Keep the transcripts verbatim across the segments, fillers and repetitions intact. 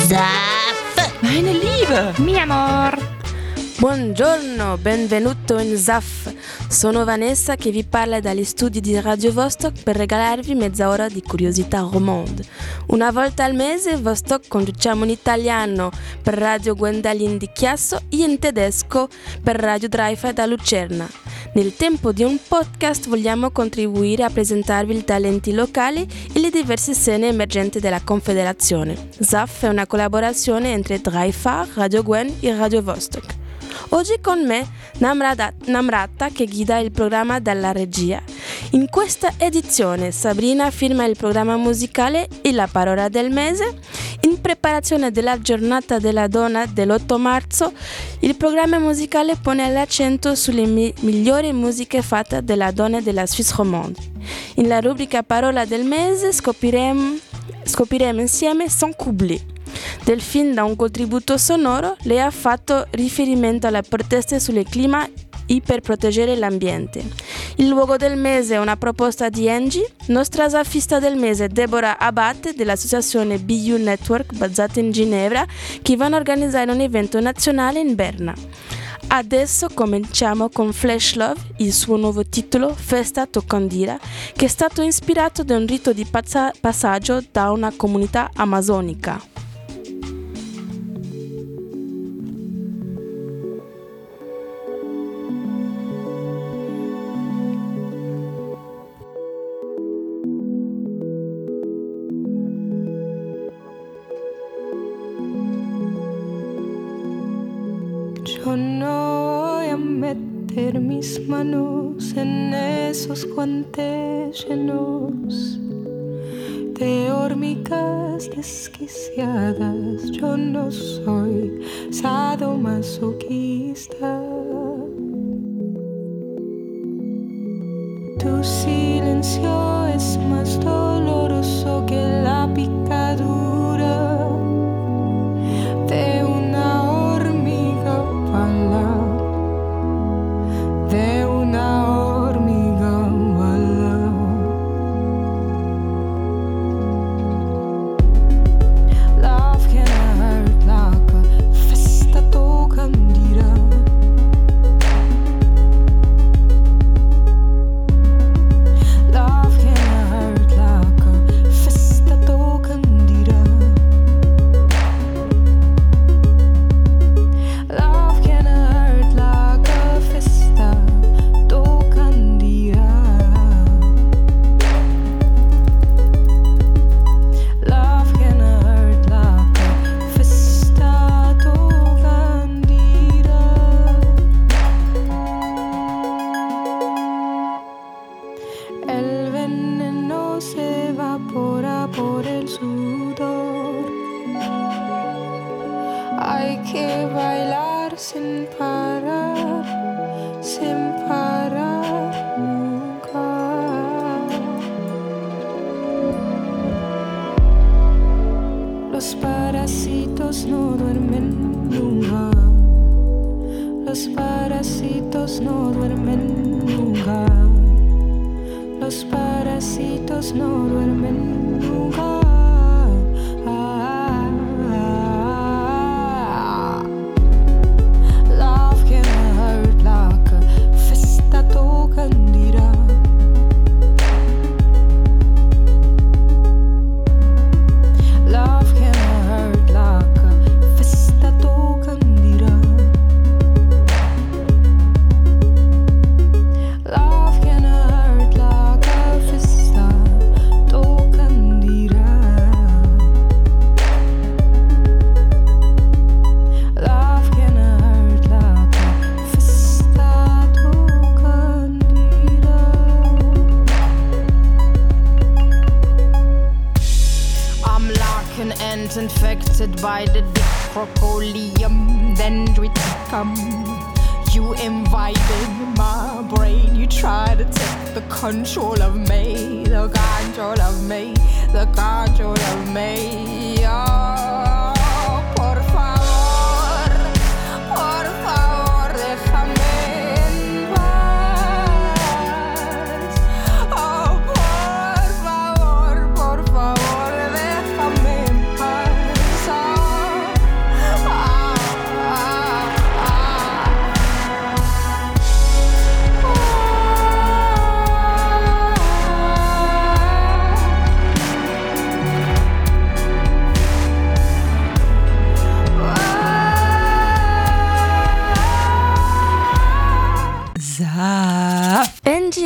Zaf! Meine Liebe! Mi amor! Buongiorno, benvenuto in Zaf. Sono Vanessa che vi parla dagli studi di Radio Vostok per regalarvi mezz'ora di curiosità romande. Una volta al mese Vostok conduciamo in italiano per Radio Gwendalin di Chiasso e in tedesco per Radio Dreifeld da Lucerna. Nel tempo di un podcast vogliamo contribuire a presentarvi i talenti locali e le diverse scene emergenti della Confederazione. Zaf è una collaborazione entre Dreifeld, Radio Gwen e Radio Vostok. Oggi con me Namrata, Namrata che guida il programma dalla regia. In questa edizione Sabrina firma il programma musicale e la parola del mese. In preparazione della giornata della donna dell'otto marzo, il programma musicale pone l'accento sulle mi- migliori musiche fatte dalla donna della Suisse romande. In la rubrica parola del mese scopriremo, scopriremo insieme Sans Coubler. Del film da un contributo sonoro, lei ha fatto riferimento alle proteste sul clima e per proteggere l'ambiente. Il luogo del mese è una proposta di Angie, nostra zafista del mese Deborah Abate dell'associazione B U Network basata in Ginevra, che vanno a organizzare un evento nazionale in Berna. Adesso cominciamo con Flash Love, il suo nuovo titolo Festa Tocandira, che è stato ispirato da un rito di passa- passaggio da una comunità amazonica. Yo no voy a meter mis manos en esos guantes llenos de hormigas desquiciadas. Yo no soy sadomasoquista. Tu silencio es más doloroso que la picadura de una hormiga bala, de una hormiga bala. Love can hurt like a festa tocandira. Love can hurt like a festa tocandira. Love can hurt like a festa tocandira. Love can hurt like a festa tocandira. El veneno se evapora por el sudor. Hay que bailar sin parar, sin parar nunca. Los parásitos no duermen nunca. Los parásitos no duermen nunca. Los parásitos no duermen nunca. Love can hurt like a festa tocandira. Love can hurt like a festa tocandira. Love can hurt like a festa tocandira. Love can hurt like a festa tocandira. I'm like an ant infected by the Dicrocolium dendriticum. You invited my brain, you tried to take the control of me, the control of me, the control of me. Oh, por favor, por favor, déjame en paz. Oh, por favor, por favor, déjame en paz. Oh,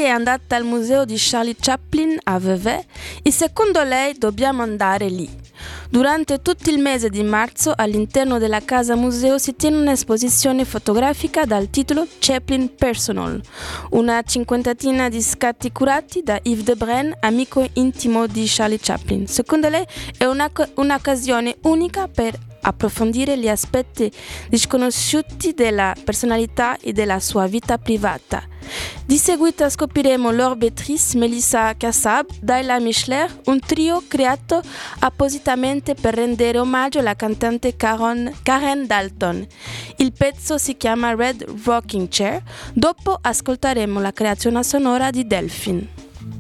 è andata al museo di Charlie Chaplin a Vevey e secondo lei dobbiamo andare lì. Durante tutto il mese di marzo all'interno della casa museo si tiene un'esposizione fotografica dal titolo Chaplin Personal, una cinquantina di scatti curati da Yves Debren, amico intimo di Charlie Chaplin. Secondo lei è una, un'occasione unica per approfondire gli aspetti disconosciuti della personalità e della sua vita privata. Di seguito scopriremo Laure Beatrice, Melissa Kassab, Dayla Michler, un trio creato appositamente per rendere omaggio alla cantante Karen, Karen Dalton. Il pezzo si chiama Red Rocking Chair, dopo ascolteremo la creazione sonora di Delphine.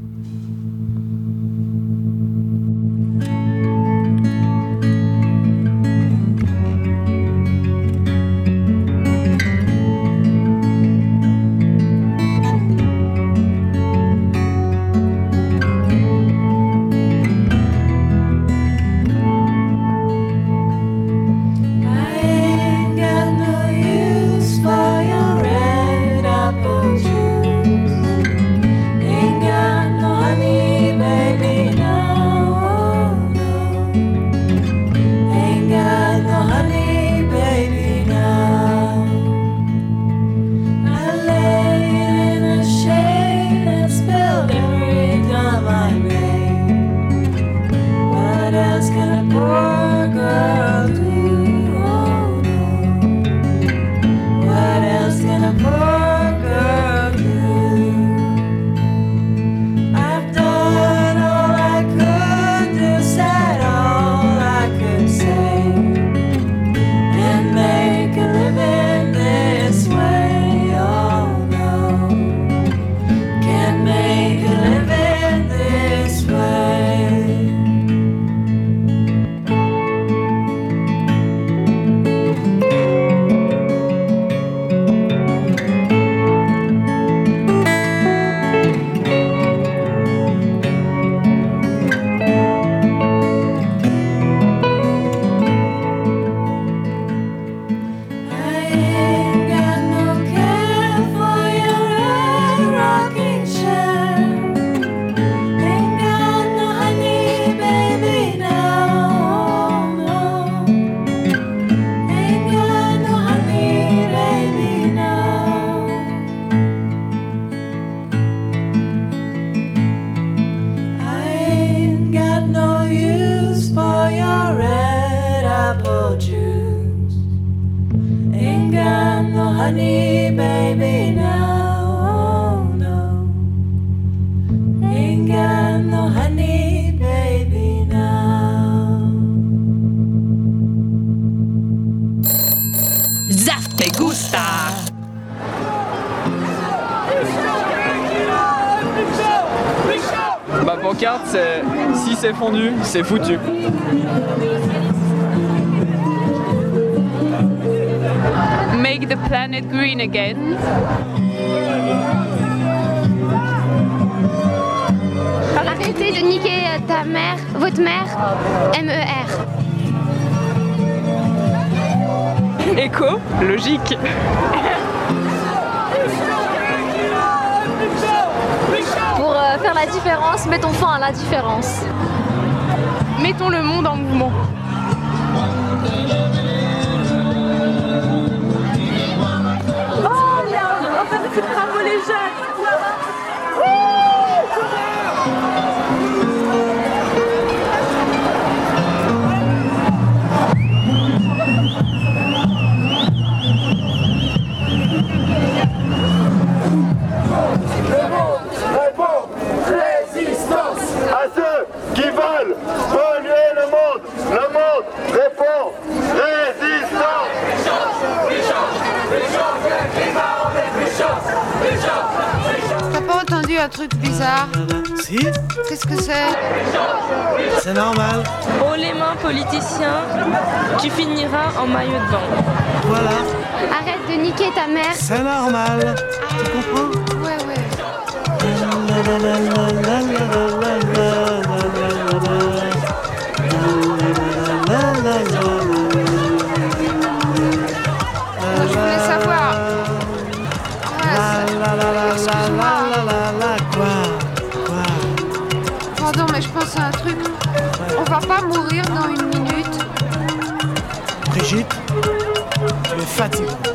honey, baby, now, oh no. Ain't got no honey, baby, now. Zaf te gusta! Ma pancarte, c'est si c'est fondu, c'est foutu. Make the planet green again. Arrêtez de niquer ta mère, votre mère, M E R. Éco, logique. Pour euh, faire la différence, mettons fin à la différence. Mettons le monde en mouvement. Oh merde, on va faire bravo les jeunes. T'as pas entendu un truc bizarre? Si. Qu'est-ce que c'est? C'est normal. Oh les mains politiciens, tu finiras en maillot de bain. Voilà. Arrête de niquer ta mère. C'est normal. Tu comprends? Ouais, ouais. Je voulais savoir. Ouais, excuse-moi. Brigitte, tu es fatigante.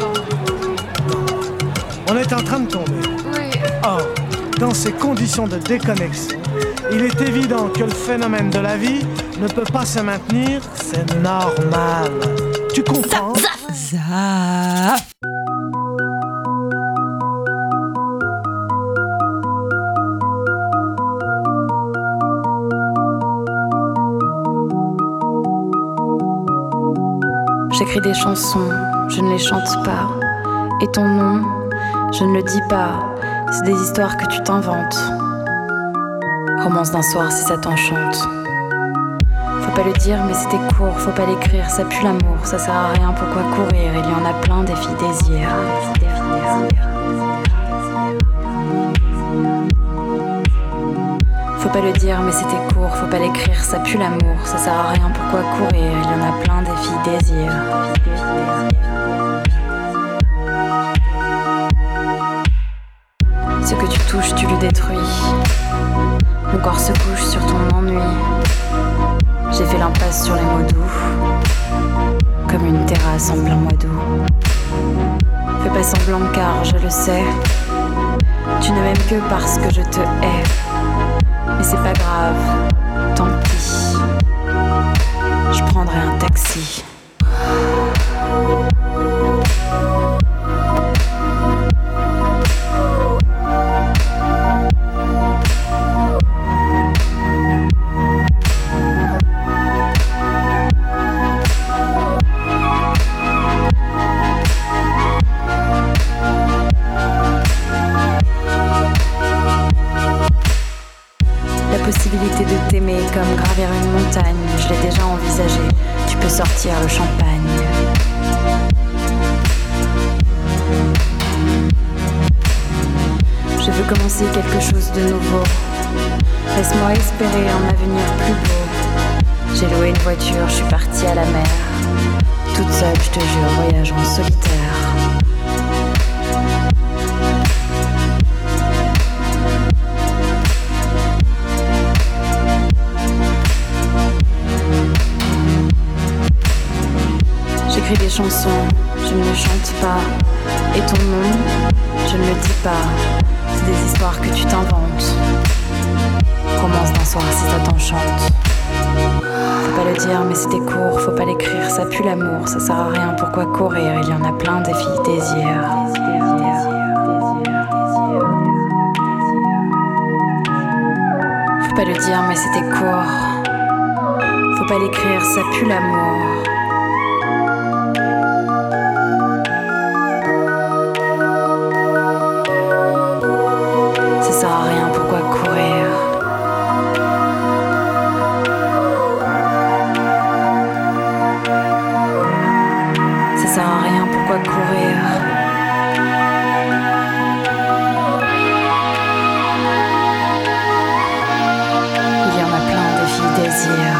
On est en train de tomber. Oui. Or, dans ces conditions de déconnexion, il est évident que le phénomène de la vie ne peut pas se maintenir, c'est normal. Tu comprends? Zaf. J'écris des chansons, je ne les chante pas. Et ton nom, je ne le dis pas. C'est des histoires que tu t'inventes. Romance d'un soir si ça t'enchante. Faut pas le dire mais c'était court, faut pas l'écrire, ça pue l'amour, ça sert à rien, pourquoi courir? Il y en a plein des filles désirs. Faut pas le dire mais c'était court, faut pas l'écrire, ça pue l'amour, ça sert à rien, pourquoi courir? Il y en a plein des filles désirs. Ce que tu touches, tu le détruis. Mon corps se couche sur ton ennui. J'ai fait l'impasse sur les mots doux, comme une terrasse en plein mois d'août. Fais pas semblant car je le sais, tu ne m'aimes que parce que je te hais. Mais c'est pas grave, tant pis. Je prendrai un taxi. Possibilité de t'aimer comme gravir une montagne, je l'ai déjà envisagé, tu peux sortir le champagne. Je veux commencer quelque chose de nouveau, laisse-moi espérer un avenir plus beau. J'ai loué une voiture, je suis partie à la mer, toute seule je te jure, voyage en solitaire. J'écris des chansons, je ne les chante pas. Et ton nom, je ne le dis pas. C'est des histoires que tu t'inventes. Romance d'un soir si ça t'enchante. Faut pas le dire mais c'était court, faut pas l'écrire, ça pue l'amour, ça sert à rien, pourquoi courir? Il y en a plein des filles désirs. Faut pas le dire mais c'était court. Faut pas l'écrire, ça pue l'amour. Ça sert à rien, pourquoi courir? Ça sert à rien, pourquoi courir? Il y en a plein de filles désirs.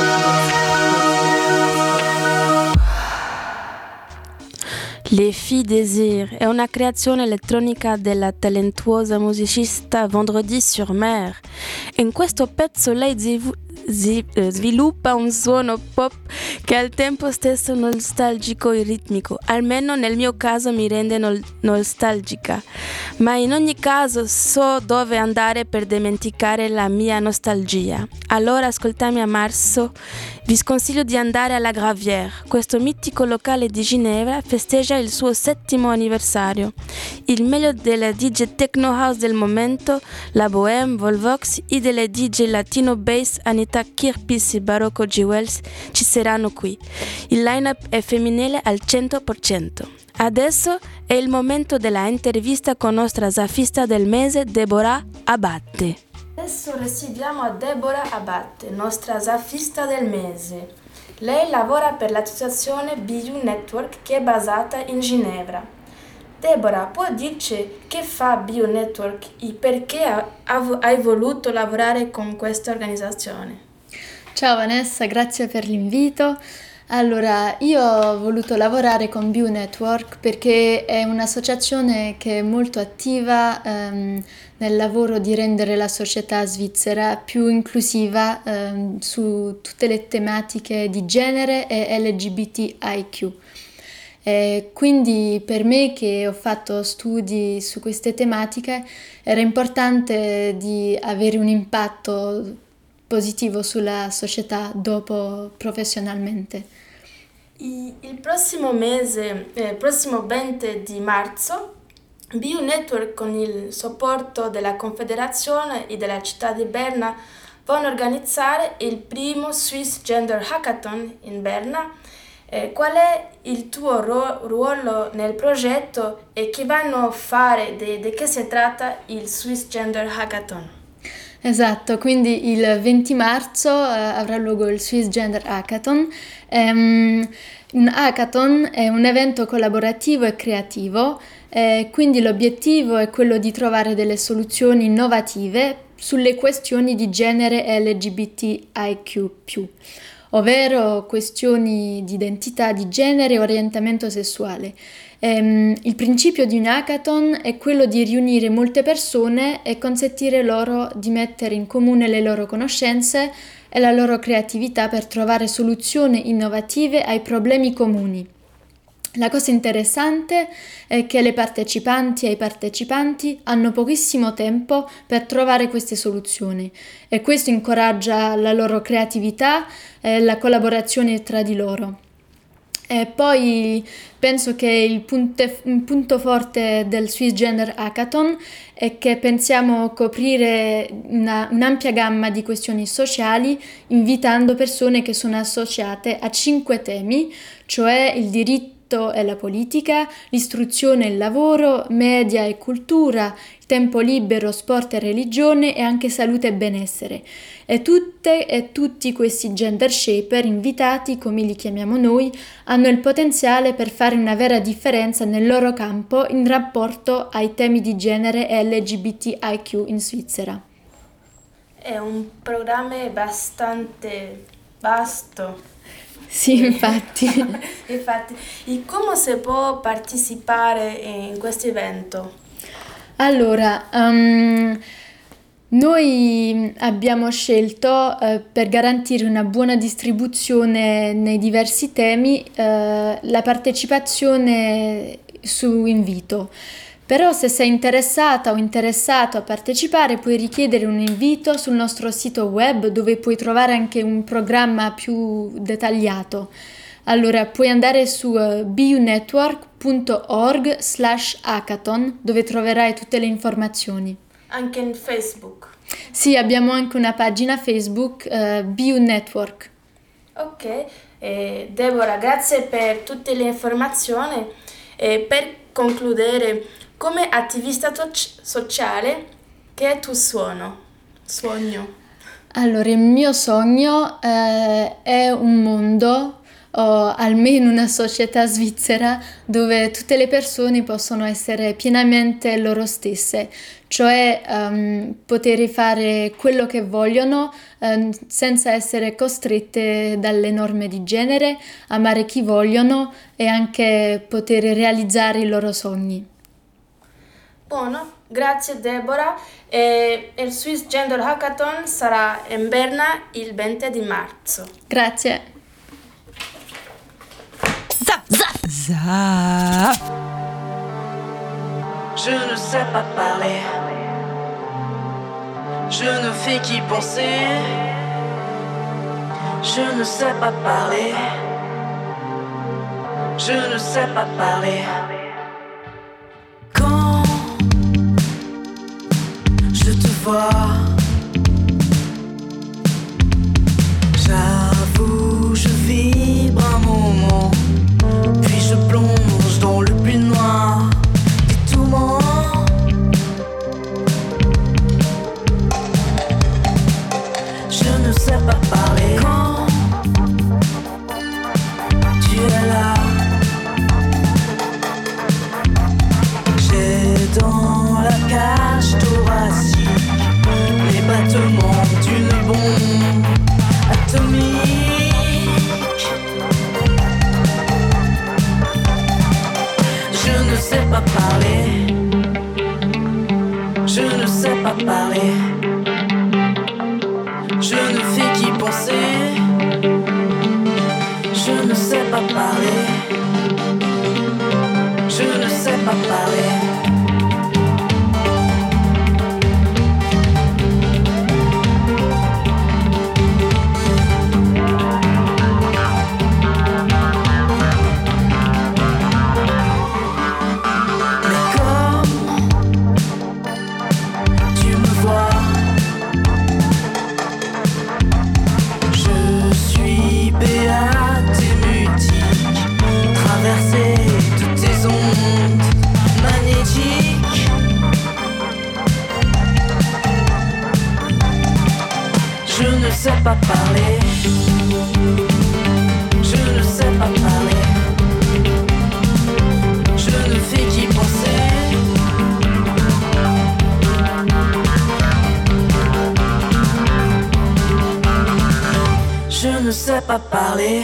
Le Filles Désir è una creazione elettronica della talentuosa musicista Vendredi sur Mer. In questo pezzo lei ziv- zi- eh, sviluppa un suono pop che è al tempo stesso nostalgico e ritmico, almeno nel mio caso mi rende nol- nostalgica, ma in ogni caso so dove andare per dimenticare la mia nostalgia. Allora ascoltami a marzo, vi sconsiglio di andare alla Gravière, questo mitico locale di Ginevra festeggia il suo settimo anniversario. Il meglio della D J Techno House del momento, la Bohème, Volvox e delle D J Latino Bass Anita Kirpis e Barocco G. Wells ci saranno qui. Il line-up è femminile al cento per cento. Adesso è il momento della intervista con nostra zaffista del mese, Deborah Abate. Adesso riceviamo Deborah Abate, nostra zaffista del mese. Lei lavora per l'associazione B U Network che è basata in Ginevra. Deborah, può dirci che fa B U Network e perché hai voluto lavorare con questa organizzazione? Ciao Vanessa, grazie per l'invito. Allora, io ho voluto lavorare con Bio Network perché è un'associazione che è molto attiva ehm, nel lavoro di rendere la società svizzera più inclusiva ehm, su tutte le tematiche di genere e L G B T I Q. E quindi per me, che ho fatto studi su queste tematiche, era importante di avere un impatto positivo sulla società dopo professionalmente. Il prossimo mese, il eh, prossimo venti di marzo, Bio Network, con il supporto della Confederazione e della città di Berna, vanno a organizzare il primo Swiss Gender Hackathon in Berna. Eh, qual è il tuo ro- ruolo nel progetto e che vanno a fare, di, di che si tratta il Swiss Gender Hackathon? Esatto, quindi il venti marzo eh, avrà luogo il Swiss Gender Hackathon. Um, un hackathon è un evento collaborativo e creativo, eh, quindi l'obiettivo è quello di trovare delle soluzioni innovative sulle questioni di genere e L G B T I Q più, ovvero questioni di identità di genere e orientamento sessuale. Um, il principio di un hackathon è quello di riunire molte persone e consentire loro di mettere in comune le loro conoscenze e la loro creatività per trovare soluzioni innovative ai problemi comuni. La cosa interessante è che le partecipanti e i partecipanti hanno pochissimo tempo per trovare queste soluzioni e questo incoraggia la loro creatività e la collaborazione tra di loro. E poi penso che il punto, il punto forte del Swiss Gender Hackathon è che pensiamo coprire una, un'ampia gamma di questioni sociali, invitando persone che sono associate a cinque temi, cioè il diritto e la politica, l'istruzione e il lavoro, media e cultura, il tempo libero, sport e religione e anche salute e benessere. E tutte e tutti questi gender shaper invitati, come li chiamiamo noi, hanno il potenziale per fare una vera differenza nel loro campo in rapporto ai temi di genere e L G B T I Q in Svizzera. È un programma abbastanza vasto. Sì, infatti. Infatti, e come si può partecipare in questo evento? Allora, um, noi abbiamo scelto, uh, per garantire una buona distribuzione nei diversi temi, uh, la partecipazione su invito. Però se sei interessata o interessato a partecipare puoi richiedere un invito sul nostro sito web, dove puoi trovare anche un programma più dettagliato. Allora puoi andare su uh, bionetwork punto org slash hackathon, dove troverai tutte le informazioni. Anche in Facebook? Sì, abbiamo anche una pagina Facebook, uh, Bio Network. Ok, eh, Deborah, grazie per tutte le informazioni. E per concludere, come attivista to- sociale, che è il tuo suono, sogno? Allora, il mio sogno eh, è un mondo, o almeno una società svizzera, dove tutte le persone possono essere pienamente loro stesse, cioè um, poter fare quello che vogliono um, senza essere costrette dalle norme di genere, amare chi vogliono e anche poter realizzare i loro sogni. Buono, grazie Deborah. E il Swiss Gender Hackathon sarà in Berna il venti di marzo. Grazie. Zap, zap, zap. Je ne sais pas parler, je ne fais qu'y penser. Je ne sais pas parler, je ne sais pas parler. Quand je te vois, j'avoue, je vibre un moment, puis je plonge dans le plus noir des tourments. Je ne sais pas parler quand tu es là. J'ai dans la cage thoracique pas parler. Je ne sais pas parler. Je ne fais qu'y penser. Je ne sais pas parler. Je ne sais pas parler. Je ne sais pas parler. Je ne sais pas parler. Je ne fais qu'y penser. Je ne sais pas parler.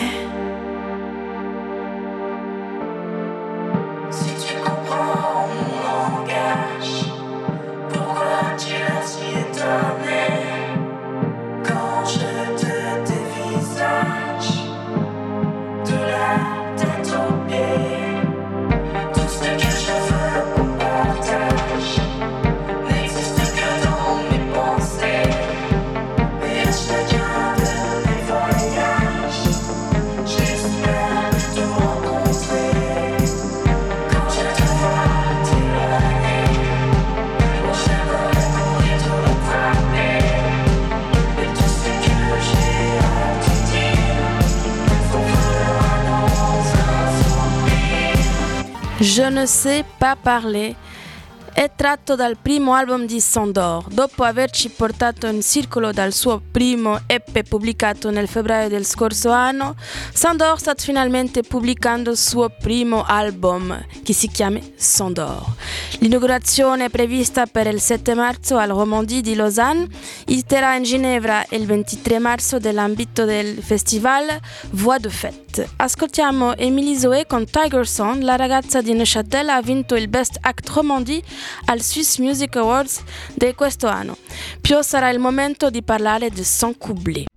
Si tu comprends mon langage, pourquoi tu es si étonné quand je te dévisage de la tête aux pieds? Tout ce que je veux qu'on partage n'existe que dans mes pensées. Et à chacun de mes voyages, j'espère te rencontrer. Quand je te vois t'éloigner, j'aimerais mourir de rattraper. Et tout ce que j'ai à te dire, faut faire dans un sourire. Je ne sais pas parler è tratto dal primo album di Sandor. Dopo averci portato in circolo dal suo primo E P pubblicato nel febbraio del scorso anno, Sandor sta finalmente pubblicando il suo primo album, che si chiama Sandor. L'inaugurazione è prevista per il sette marzo al Romandie di Lausanne, il terrà in Ginevra il ventitré marzo nell'ambito del festival Voix de Fête. Ascoltiamo Émilie Zoé con Tiger Song. La ragazza di Neuchâtel ha vinto il Best Act Romandie al Swiss Music Awards di questo anno. Più sarà il momento di parlare di son couplet.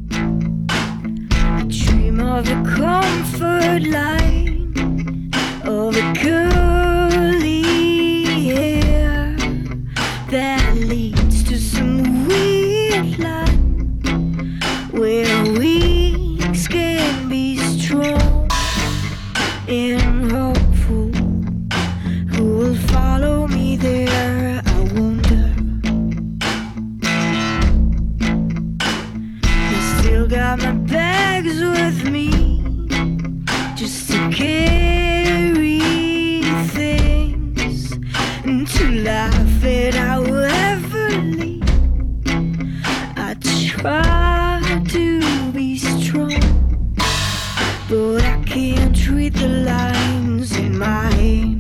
Dream of a comfort line, of a curly hair that leads to some weird line where weeks can be strong and hopeful. Who will follow me there, I wonder. I still got my bags with me, just to carry things and to laugh at however late. I try to be strong, but I can't read the lines in my hand.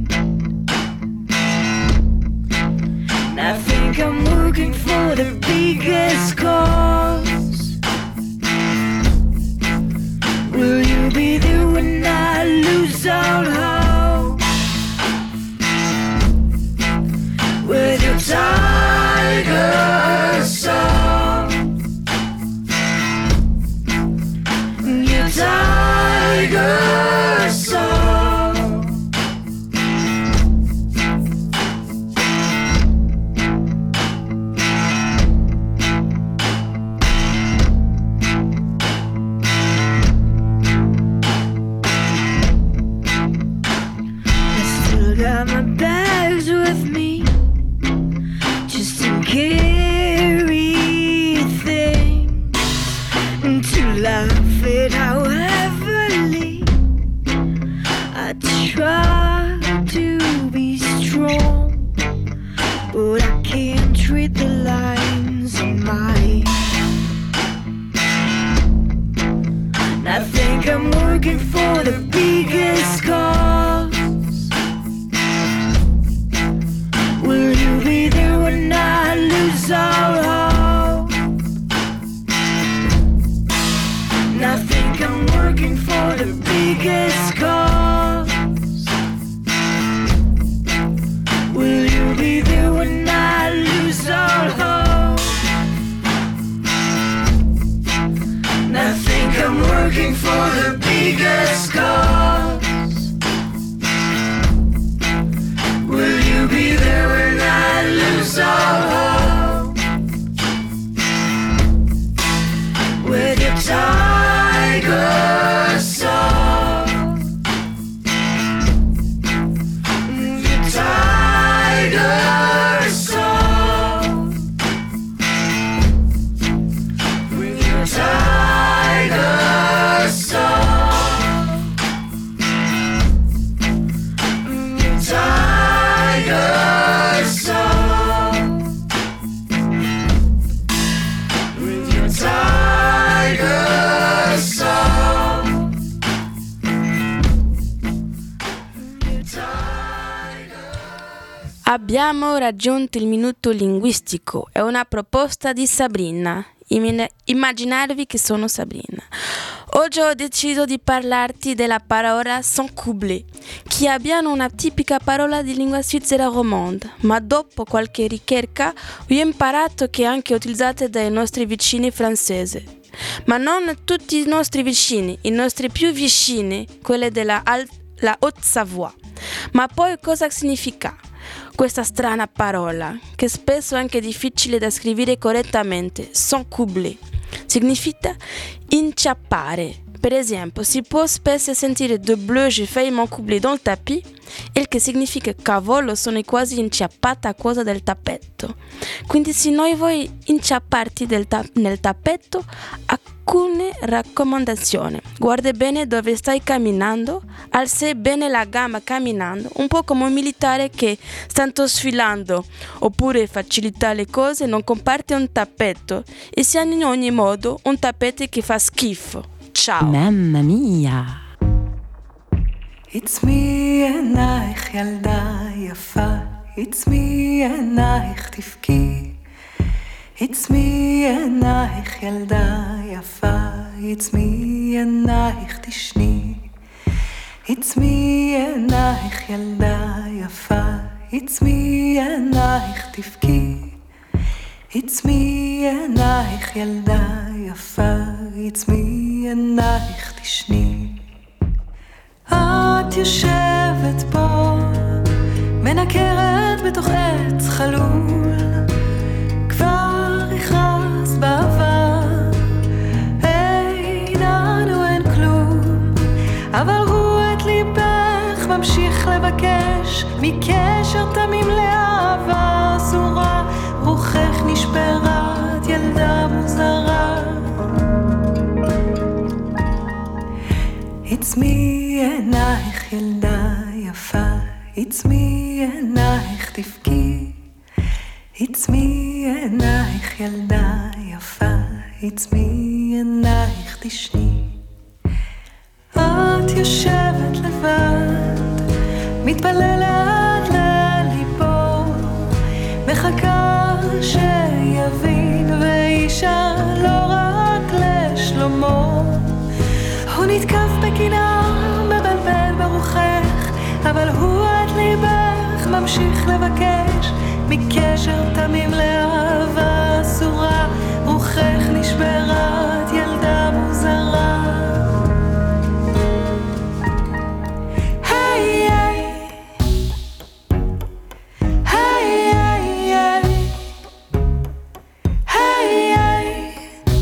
I think I'm working for the biggest cause. Will you be there when I lose all hope? With your tiger song, your tiger song. Got my bags with me, just to carry things and to laugh at however late. I try to be strong, but I can't read the lines in my. I think I'm working for the biggest cause. Abbiamo raggiunto il minuto linguistico, è una proposta di Sabrina. Immaginarvi che sono Sabrina. Oggi ho deciso di parlarti della parola sans couplet, che abbiamo una tipica parola di lingua svizzera romande, ma dopo qualche ricerca ho imparato che è anche utilizzata dai nostri vicini francesi. Ma non tutti i nostri vicini, i nostri più vicini, quelli della Al- la Haute-Savoie. Ma poi cosa significa questa strana parola, che spesso è anche difficile da scrivere correttamente, sans couplet? Significa inciappare. Per esempio, si può spesso sentire de bleu, j'ai failli m'encoubler dans le tapis, il che significa cavolo, sono quasi inciappata a causa del tappeto. Quindi se noi vuoi inciapparti del ta- nel tappeto, alcune raccomandazioni. Guarda bene dove stai camminando, alza bene la gamba camminando, un po' come un militare che sta sfilando, oppure facilita le cose, non comparti un tappeto e sia in ogni modo un tappeto che fa schifo. Ciao. Mamma mia. It's me עינייך ילדה יפה, It's me עינייך תבכי, It's me עינייך ילדה יפה, It's me עינייך תשני, It's me עינייך ילדה יפה, It's me עינייך תבכי, It's me עינייך ילדה יפה, It's me עינייך תשני. את יושבת פה, מנקרת בתוך עץ חלול, כבר הכרז בעבר, אין לנו אין כלום, אבל הוא את ליבך ממשיך לבקש, מקשר תמים לאהבה אסורה, רוחך נשברת ילדה מוזרה. It's me עינייך ילדה יפה, It's me עינייך תבכי, It's me עינייך ילדה יפה, It's me עינייך תשני. את יושבת לבד, מתפללת לליבו, מחכה שיבין ואישה לא רק לשלומו. הוא נתקף בקנאה, מבלבל ברוחך, אבל הוא עד ליבך ממשיך לבקש, מקשר תמים לאהבה אסורה, רוחך נשברת ילדה מוזרה. היי היי היי היי היי היי.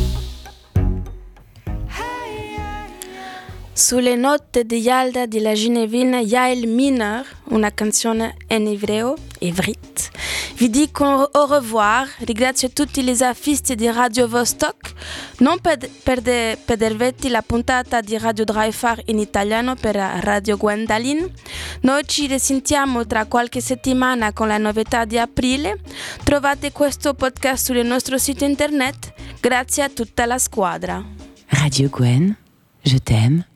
Sulle note di Yalda di la Ginevina Yael Miner, una canzone in ebreo, ivrit. Vi dico au revoir, ringrazio tutti gli afisti di Radio Vostok. Non perde, perde, perdervete la puntata di Radio Dreifach in italiano per Radio Gwendalin. Noi ci risentiamo tra qualche settimana con la novità di aprile. Trovate questo podcast sul nostro sito internet. Grazie a tutta la squadra. Radio Gwen, je t'aime.